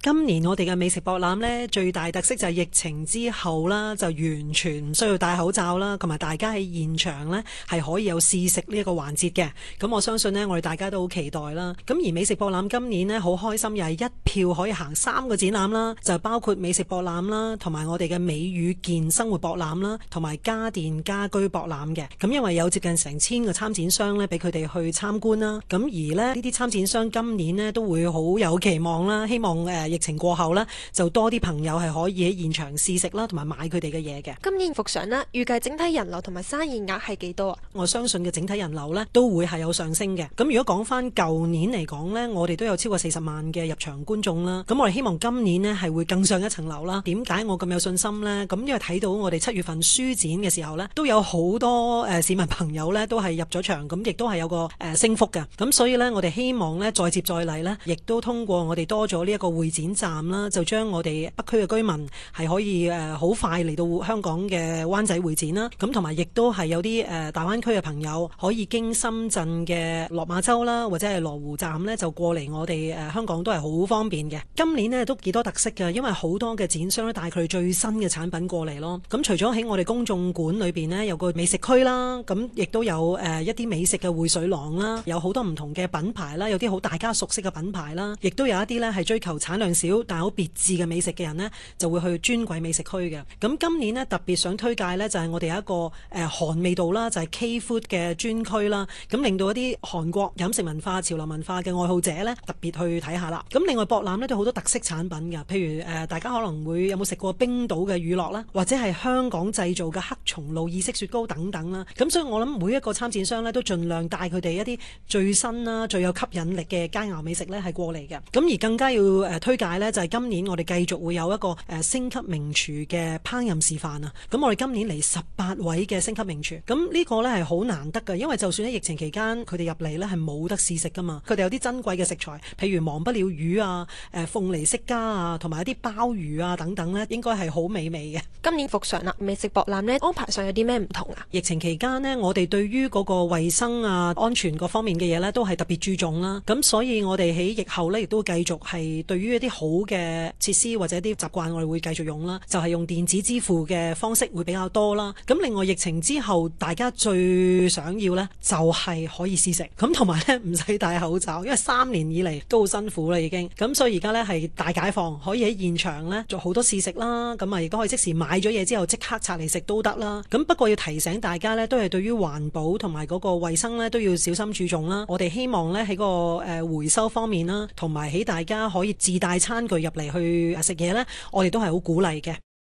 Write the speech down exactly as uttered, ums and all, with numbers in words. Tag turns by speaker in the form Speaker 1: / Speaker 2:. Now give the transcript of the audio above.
Speaker 1: 今年我哋嘅美食博覽呢，最大特色就係疫情之後啦，就完全唔需要戴口罩啦，同埋大家喺現場呢係可以有試食呢一個環節嘅。咁我相信呢，我哋大家都好期待啦。咁而美食博覽今年呢，好開心，又係一票可以行三個展覽啦，就包括美食博覽啦，同埋我哋嘅美與健生活博覽啦，同埋家電家居博覽嘅。咁因為有接近成千個參展商呢，俾佢哋去參觀啦。咁而呢呢啲參展商今年呢，都會好有期望啦，希望誒、呃、疫情過後呢，就多啲朋友係可以喺現場試食啦，同埋買佢哋嘅嘢嘅。
Speaker 2: 今年復常啦，預計整體人流同埋生意額係幾多啊？
Speaker 1: 我相信嘅整體人流呢，都會係有上升嘅。咁如果講翻舊年嚟講呢，我哋都有超過四十萬嘅入場觀眾啦。咁我哋希望今年呢，係會更上一層樓啦。點解我咁有信心呢？咁因為睇到我哋七月份書展嘅時候呢，都有好多誒、呃、市民朋友呢，都係入咗場，咁亦都係有個誒、呃、升幅嘅。咁所以呢，我哋希望呢，再接再厲呢，亦都通過我哋多咗呢一個會展站啦，就將我哋北區嘅居民係可以誒好、呃、快嚟到香港嘅灣仔會展啦。咁同埋亦都係有啲誒、呃、大灣區嘅朋友可以經深圳嘅落馬洲啦，或者係羅湖站呢，就過嚟我哋誒、呃、香港都係好方便嘅。今年呢，都幾多特色嘅，因為好多嘅展商咧帶佢哋最新嘅產品過嚟咯。咁除咗喺我哋公眾館裏邊呢，有個美食區啦，咁亦都有誒、呃、一啲美食嘅匯水廊啦，有好多唔同嘅品牌啦，有啲好大家熟悉嘅品牌啦，亦都有一啲呢係追求產量少但係好別致嘅美食嘅人呢，就會去專櫃美食區嘅。咁今年呢，特別想推介呢，就係、是、我哋有一個誒、呃、韓味道啦，就係、是、K Food 嘅專區啦，咁令到一啲韓國飲食文化、潮流文化嘅愛好者呢，特別去睇下啦。咁另外博覽呢，都好多特色產品㗎，譬如誒、呃、大家可能會有冇食過冰島嘅乳酪啦，或者係香港製造嘅黑松露意式雪糕等等啦。咁所以我諗每一個參展商呢，都盡量帶佢哋一啲最新啦、最有吸引力嘅佳肴美食呢，係過嚟嘅。咁而更加要誒、呃、推介呢，就係、是、今年我哋繼續會有一個誒、呃、星級名廚嘅烹飪示範啊。咁我哋今年嚟十八位嘅星級名廚，咁呢個呢係好難得㗎，因為就算喺疫情期間佢哋入嚟呢係冇得試食㗎嘛。佢哋有啲珍貴嘅食材，譬如忘不了魚啊、誒、呃、鳳梨釋迦啊，同埋一啲鮑魚啊等等呢，應該係好美味嘅。
Speaker 2: 今年復常啦，美食博覽呢安排上有啲咩唔同啊？
Speaker 1: 疫情期間呢，我哋對於嗰個衛生啊、安全各方面嘅嘢呢，都係特別注重啦。咁所以我哋喺疫後呢，亦都繼續係對於一啲好嘅設施或者一啲習慣，我哋會繼續用啦。就係、是、用電子支付嘅方式會比較多啦。咁另外疫情之後，大家最想要呢，就係、是、可以試食，咁同埋呢，唔使戴口罩，因為三年以嚟都好辛苦啦已經。咁所以而家呢，係大解放，可以喺現場呢做好多試食啦。咁啊亦都可以即時買咗嘢之後即刻拆嚟食都得啦。咁不過要提醒大家呢，都係對於環保同埋嗰個衛生呢，都要小心注重啦。我哋希望呢，喺個誒回收方面啦，同埋喺大家可以自帶餐具入嚟去食嘢呢，我哋都係好鼓勵嘅。